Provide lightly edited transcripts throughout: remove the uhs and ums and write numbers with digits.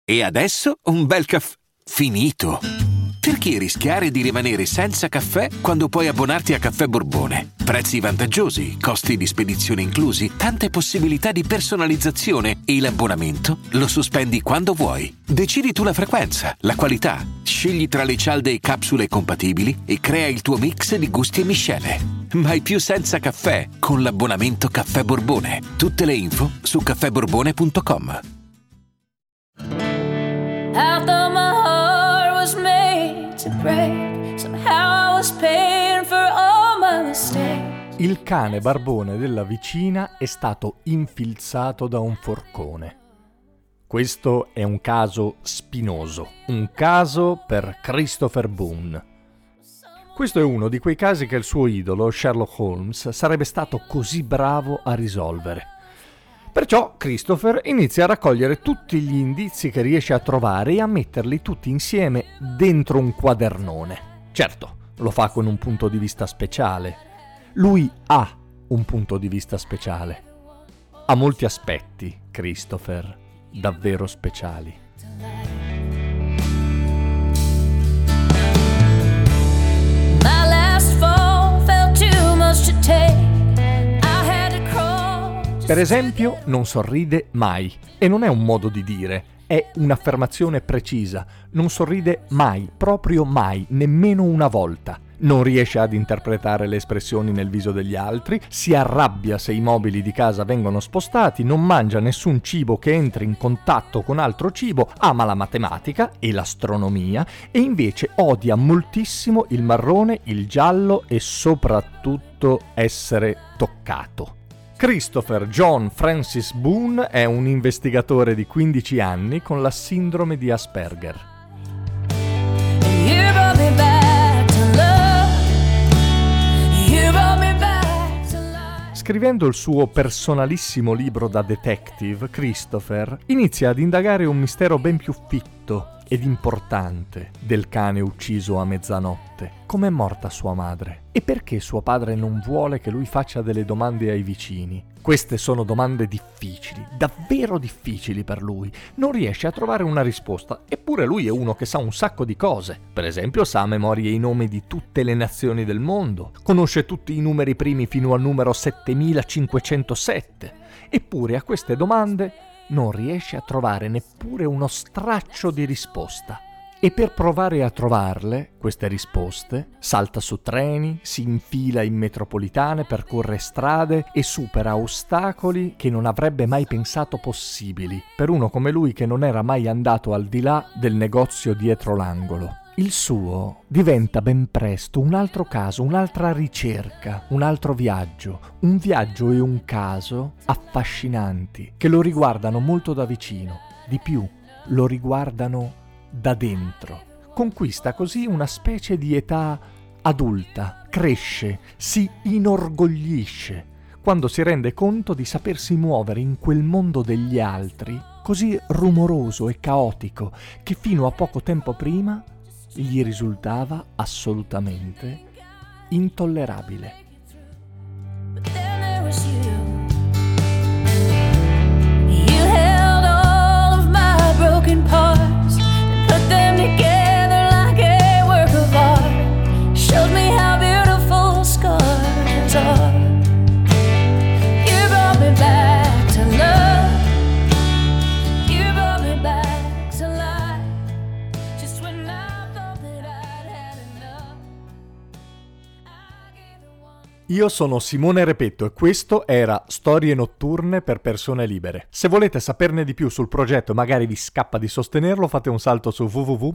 E adesso un bel caffè finito. Perché rischiare di rimanere senza caffè quando puoi abbonarti a Caffè Borbone? Prezzi vantaggiosi, costi di spedizione inclusi, tante possibilità di personalizzazione e l'abbonamento lo sospendi quando vuoi. Decidi tu la frequenza, la qualità, scegli tra le cialde e capsule compatibili e crea il tuo mix di gusti e miscele. Mai più senza caffè con l'abbonamento Caffè Borbone. Tutte le info su caffèborbone.com. I thought my heart was made to break. Somehow I was paying for all my mistakes. Il cane barbone della vicina è stato infilzato da un forcone. Questo è un caso spinoso, un caso per Christopher Boone. Questo è uno di quei casi che il suo idolo, Sherlock Holmes, sarebbe stato così bravo a risolvere. Perciò Christopher inizia a raccogliere tutti gli indizi che riesce a trovare e a metterli tutti insieme dentro un quadernone. Certo, lo fa con un punto di vista speciale. Lui ha un punto di vista speciale. Ha molti aspetti, Christopher, davvero speciali. My last fall felt too much to take. Per esempio, non sorride mai. E non è un modo di dire, è un'affermazione precisa. Non sorride mai, proprio mai, nemmeno una volta. Non riesce ad interpretare le espressioni nel viso degli altri, si arrabbia se i mobili di casa vengono spostati, non mangia nessun cibo che entri in contatto con altro cibo, ama la matematica e l'astronomia e invece odia moltissimo il marrone, il giallo e soprattutto essere toccato. Christopher John Francis Boone è un investigatore di 15 anni con la sindrome di Asperger. Scrivendo il suo personalissimo libro da detective, Christopher inizia ad indagare un mistero ben più fitto ed importante del cane ucciso a mezzanotte. Com'è morta sua madre? E perché suo padre non vuole che lui faccia delle domande ai vicini? Queste sono domande difficili, davvero difficili per lui. Non riesce a trovare una risposta, eppure lui è uno che sa un sacco di cose. Per esempio sa a memoria i nomi di tutte le nazioni del mondo, conosce tutti i numeri primi fino al numero 7507. Eppure a queste domande non riesce a trovare neppure uno straccio di risposta. E per provare a trovarle, queste risposte, salta su treni, si infila in metropolitane, percorre strade e supera ostacoli che non avrebbe mai pensato possibili per uno come lui che non era mai andato al di là del negozio dietro l'angolo. Il suo diventa ben presto un altro caso, un'altra ricerca, un altro viaggio. Un viaggio e un caso affascinanti che lo riguardano molto da vicino. Di più, lo riguardano da dentro. Conquista così una specie di età adulta, cresce, si inorgoglisce quando si rende conto di sapersi muovere in quel mondo degli altri così rumoroso e caotico che fino a poco tempo prima gli risultava assolutamente intollerabile. You held all of my broken parts and put them together like a work of art. Showed me how beautiful scars are. You brought me back to love. You brought me back to life. Just when I thought that I'd had enough, I gave the one. Io sono Simone Repetto e questo era Storie notturne per persone libere. Se volete saperne di più sul progetto e magari vi scappa di sostenerlo, fate un salto su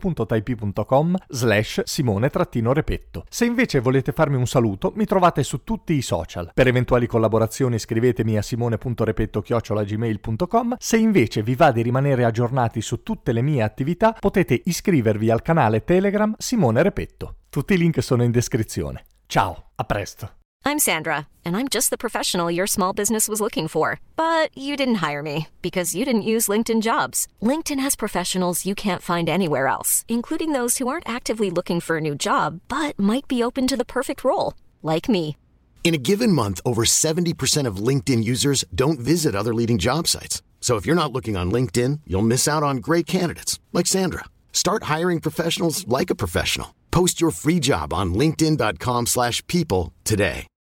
www.type.com/Simone-Repetto. Se invece volete farmi un saluto, mi trovate su tutti i social. Per eventuali collaborazioni scrivetemi a simone.repetto@gmail.com. Se invece vi va di rimanere aggiornati su tutte le mie attività, potete iscrivervi al canale Telegram Simone Repetto. Tutti i link sono in descrizione. Ciao, a presto. I'm Sandra, and I'm just the professional your small business was looking for. But you didn't hire me because you didn't use LinkedIn Jobs. LinkedIn has professionals you can't find anywhere else, including those who aren't actively looking for a new job, but might be open to the perfect role, like me. In a given month, over 70% of LinkedIn users don't visit other leading job sites. So if you're not looking on LinkedIn, you'll miss out on great candidates like Sandra. Start hiring professionals like a professional. Post your free job on linkedin.com/people today.